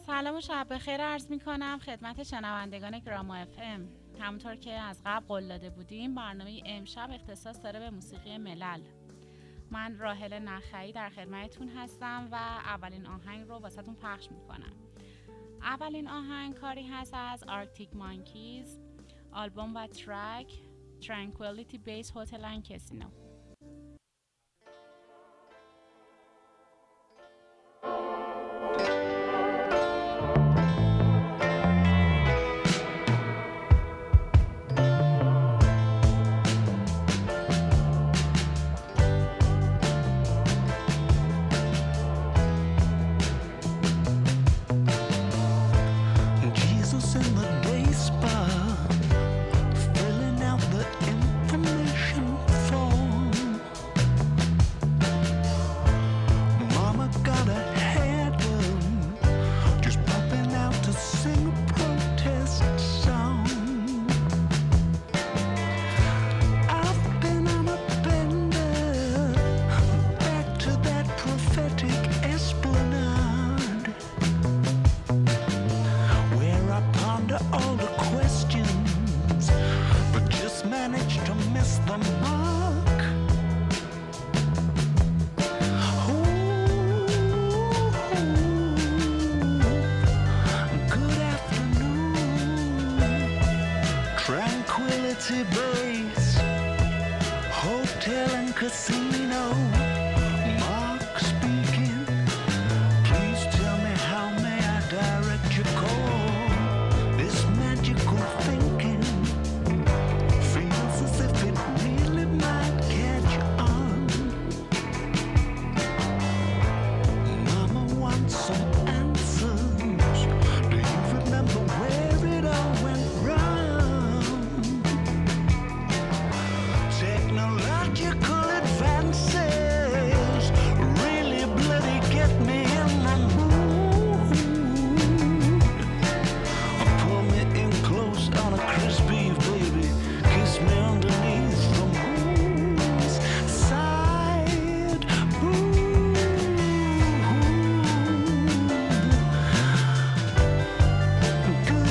سلام و شب بخیر عرض می کنم خدمت شنوندگان گراما اف ام. همونطور که از قبل قول داده بودیم برنامه امشب اختصاص داره به موسیقی ملل. من راحل نخعی در خدمتتون هستم و اولین آهنگ رو واسهتون پخش می کنم. اولین آهنگ کاری هست از آرکتیک مانکیز، آلبوم و ترک Tranquility Base Hotel and Casino. Tranquility Base Hotel and Casino. Mark speaking. Please tell me how may I direct your call. This magical thinking feels as if it really might catch on. Mama wants some answers. Do you remember where it all went wrong? Technological advances really bloody get me in the mood. Pull me in close on a crispy baby, kiss me underneath the moon's side. Good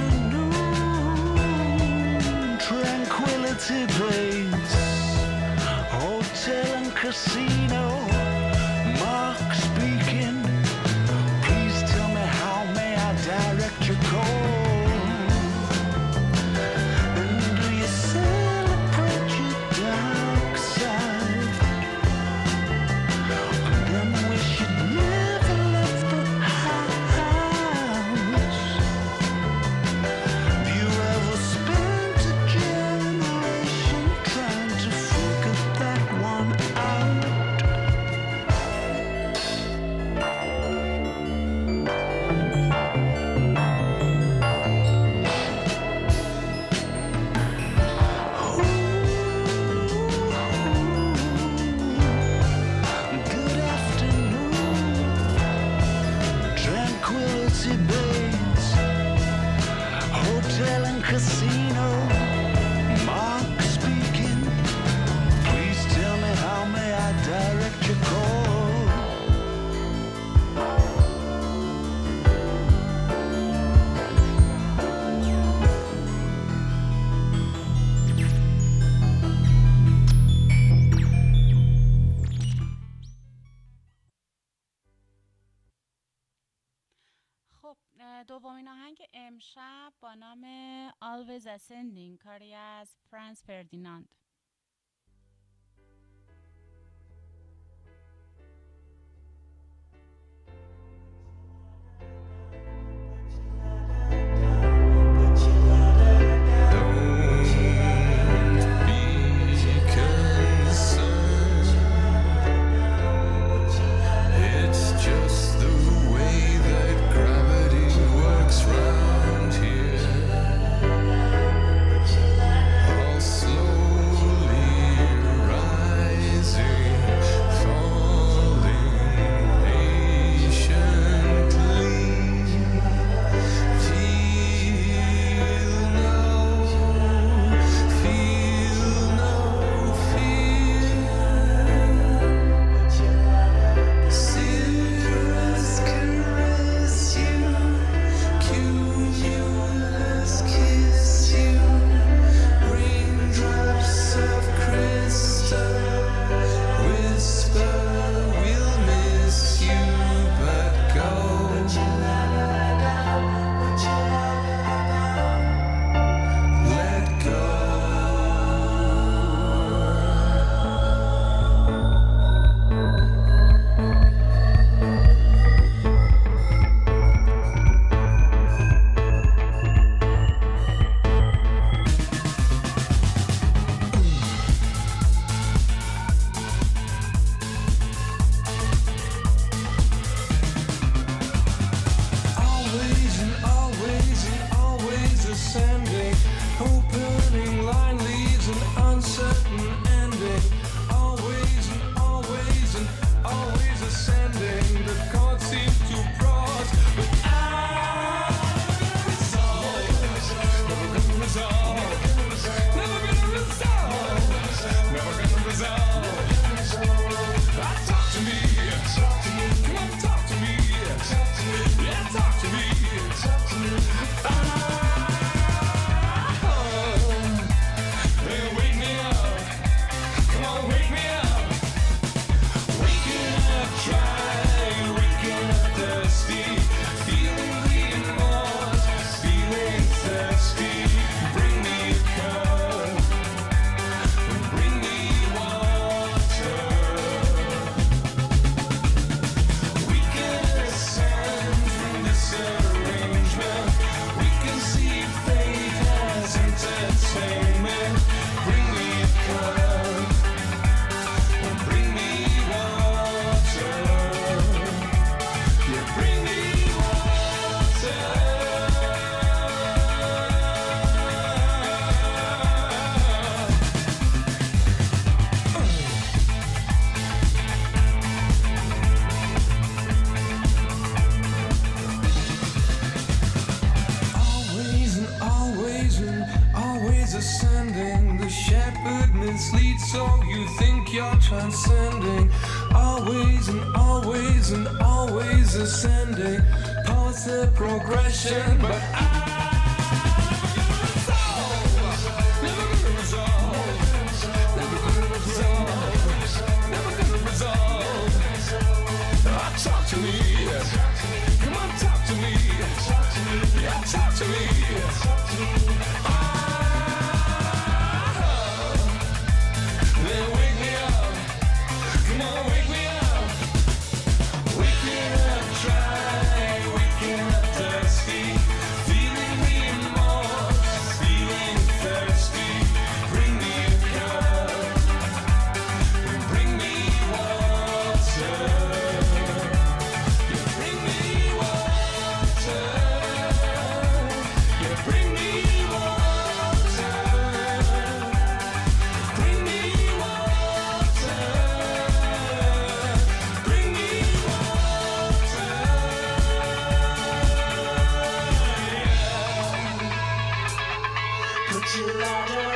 afternoon, Tranquility Base Hotel and Casino. Mark speaking. Please tell me how may I direct your call. And do you celebrate your dark side? And then wish you'd never left the house. Have you ever spent a generation trying to figure that one out? Good afternoon, Tranquility Base Hotel and Casino. Mark speaking. Please tell me how may I direct your call. خب دومین آهنگ امشب با نام Always Ascending کاری از فرانس فردیناند. It's just the way that gravity works round here. I'll slow so you think you're transcending, always and always and always ascending, past the progression, but talk to me, come on, talk to me, yeah, talk to me. Then wake me up, come on, wake me up. Waking up dry, waking up thirsty, feeling remorse, feeling thirsty. Bring me a cup, bring me water. Bring me water. Bring me water. Bring me water. Bring me water. Put your ladder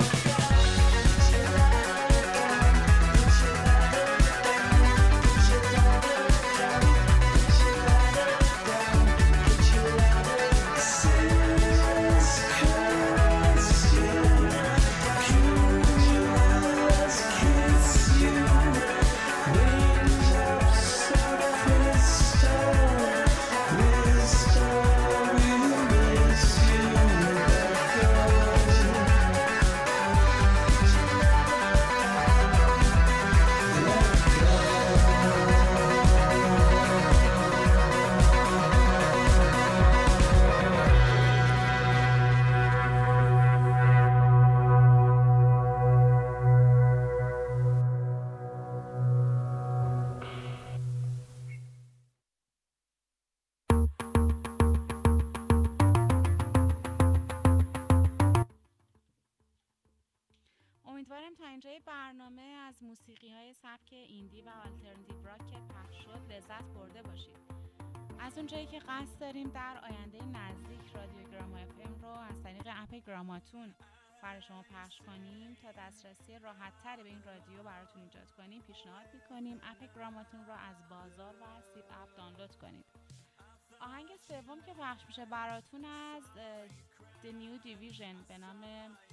امیدوارم تا اینجای برنامه از موسیقی‌های سبک ایندی و آلترناتیو راک که پخش شد لذت برده باشید. از اونجایی که قصد داریم در آینده نزدیک رادیو گراما FM رو از طریق اپ گراماتون برای شما پخش کنیم تا دسترسی راحت‌تری به این رادیو براتون ایجاد کنیم، پیشنهاد می‌کنیم اپ گراماتون رو از بازار و سید اپ دانلود کنید. آهنگ سوم که پخش میشه براتون از The New Division به نام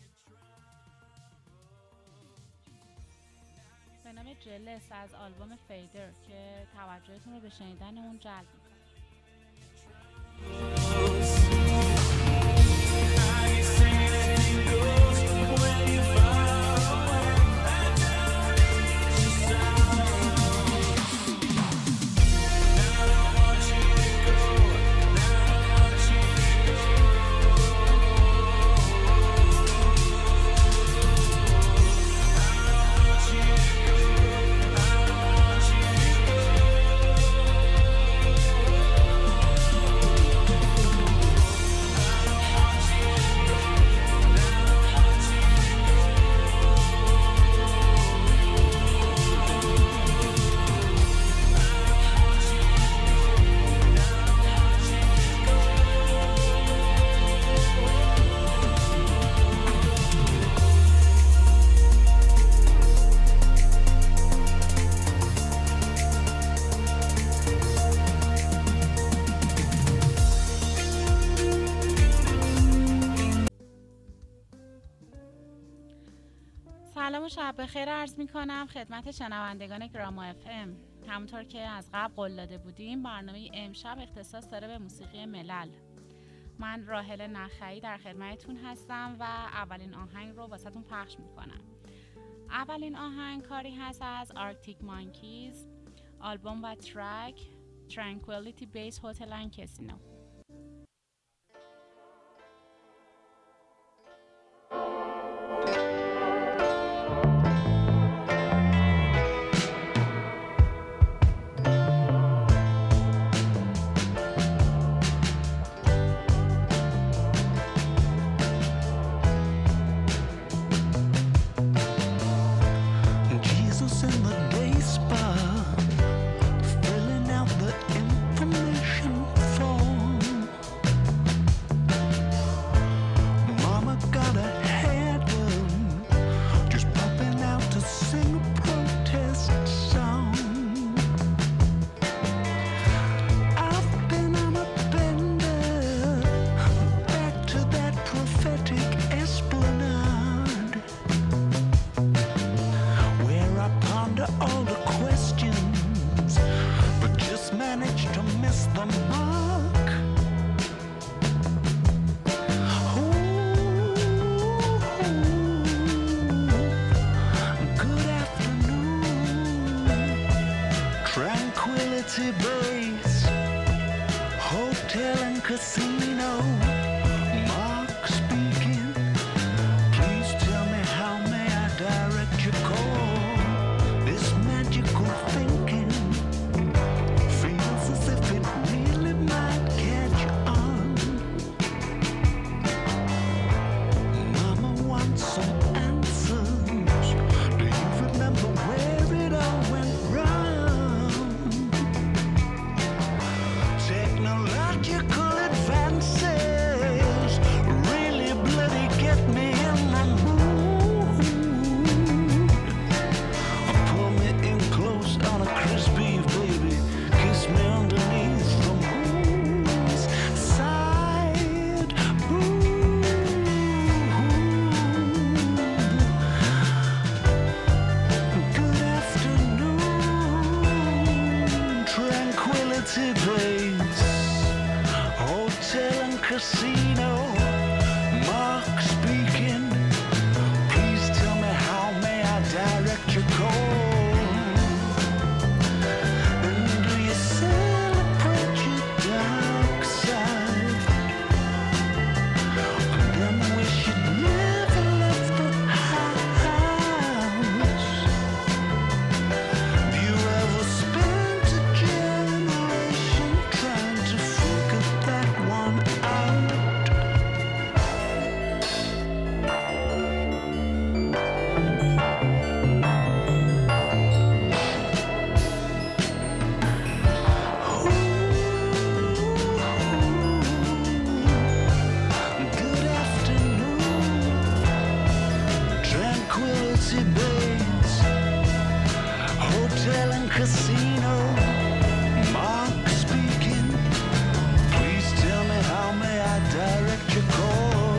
جلس از آلبوم فیدر که توجهتون رو به شنیدن اون جلب می‌کنه. سلام و شب بخیر عرض می کنم خدمت شنوندگان گراما FM. همونطور که از قبل قول داده بودیم برنامه امشب اختصاص داره به موسیقی ملل. من راحل نخعی در خدمتتون هستم و اولین آهنگ رو واسهتون پخش می کنم. اولین آهنگ کاری هست از آرکتیک مانکیز، آلبوم و ترک Tranquility Base Hotel and Casino. Filling out the information form. miss the mark. Good afternoon, Tranquility Base, hotel and casino. Mark speaking. Please tell me how may I direct your call. This magical thinking feels as if it really might catch on. Mama wants some answers. Do you remember where it all went wrong? Technological advances really bloody get me in the mood. Pull me in close on a crispy eve, baby. Kiss me underneath the moon's side. Good afternoon, Tranquility Base, hotel and casino. Mark speaking. Please tell me how may I direct your call. And do you celebrate your dark side? And then wish you'd never left the house. Do you ever spend a generation trying to figure that one out? Good afternoon, Tranquility Base, hotel and casino. Mark speaking. Please tell me how may I direct your call.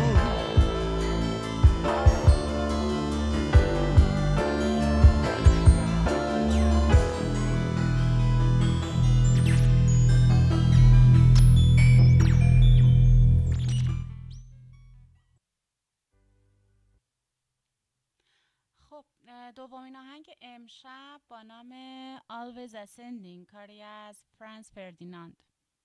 خب دومین آهنگ امشب با نام Always Ascending، کاری از فرانس فردیناند.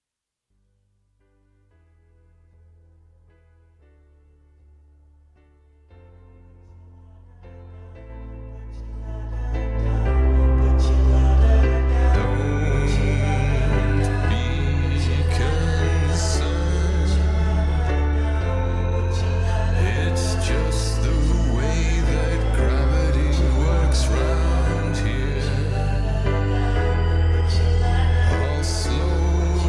It's just the way that gravity works round here. All slow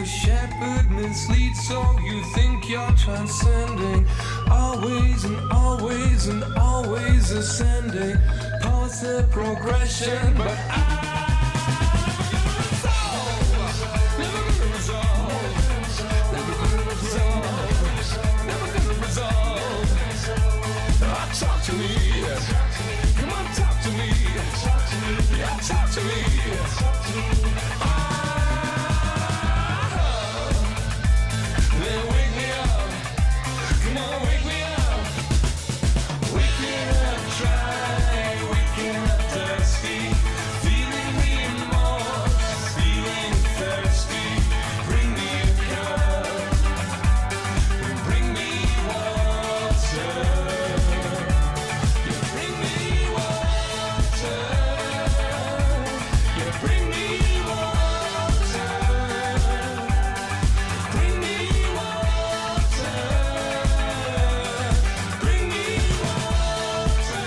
shepherd misleads, so you think you're transcending. Always and always and always ascending. Positive progression, but talk to me, come on, talk to me, yeah, talk to me. Then wake me up, come on, wake me up. Waking up dry, waking up thirsty, feeling remorse, feeling thirsty. Bring me a cup, bring me water. Bring me water. Bring me water. Bring me water. Bring me water.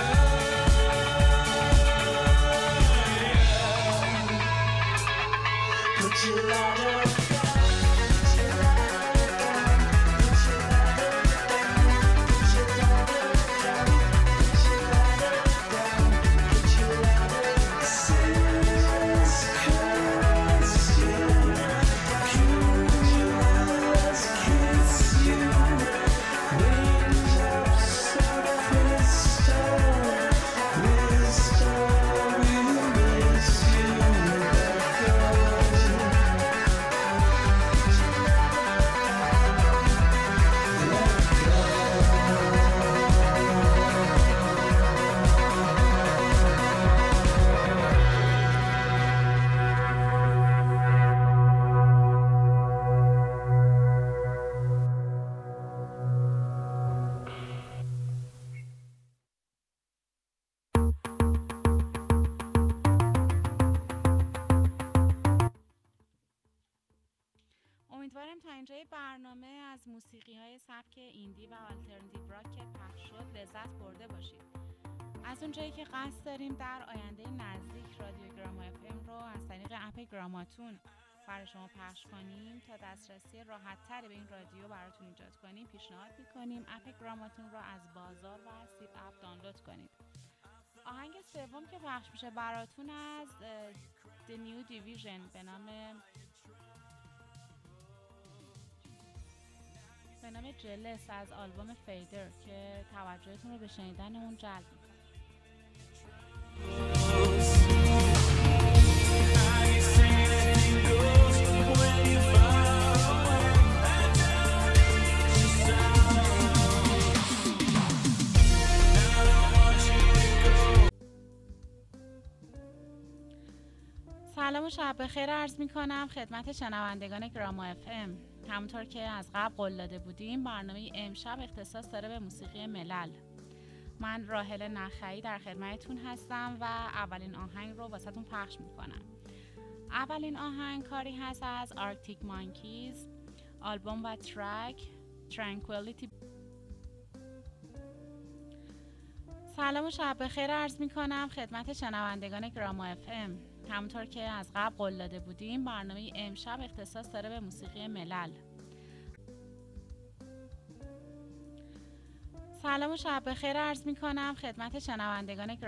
Put your lighter down. Put your lighter down. Put your lighter down. Put your lighter down. Put your lighter down. Put your lighter down. Since kiss you, curious kiss you, wings of crystal, we miss you, امیدوارم تا اینجای برنامه از موسیقی‌های سبک ایندی و آلترناتیو راک که پخش شد لذت برده باشید. از اونجایی که قصد داریم در آینده نزدیک رادیو گراما اف ام رو از طریق اپ گراماتون برای شما پخش کنیم تا دسترسی راحت‌تری به این رادیو براتون ایجاد کنیم، پیشنهاد می‌کنیم اپ گراماتون رو از بازار و سید اپ دانلود کنید. آهنگ سوم که پخش میشه براتون از The New Division به نام جلس از آلبوم فیدر که توجهتون رو به شنیدن اون جلب می‌کنه. سلام و شب بخیر عرض می‌کنم خدمت شنوندگان گراما اف ام. همونطور که از قبل قول داده بودیم برنامه امشب اختصاص داره به موسیقی ملل. من راحله نخعی در خدمتتون هستم و اولین آهنگ رو واسهتون پخش میکنم. اولین آهنگ کاری هست از آرکتیک مانکیز، آلبوم و ترک ترانکویلیتی. سلام و شب بخیر عرض میکنم خدمت شنوندگان گراما اف ام. همونطور که از قبل قول داده بودیم برنامه امشب اختصاص داره به موسیقی ملل. سلام و شب بخیر عرض میکنم خدمت شنوندگان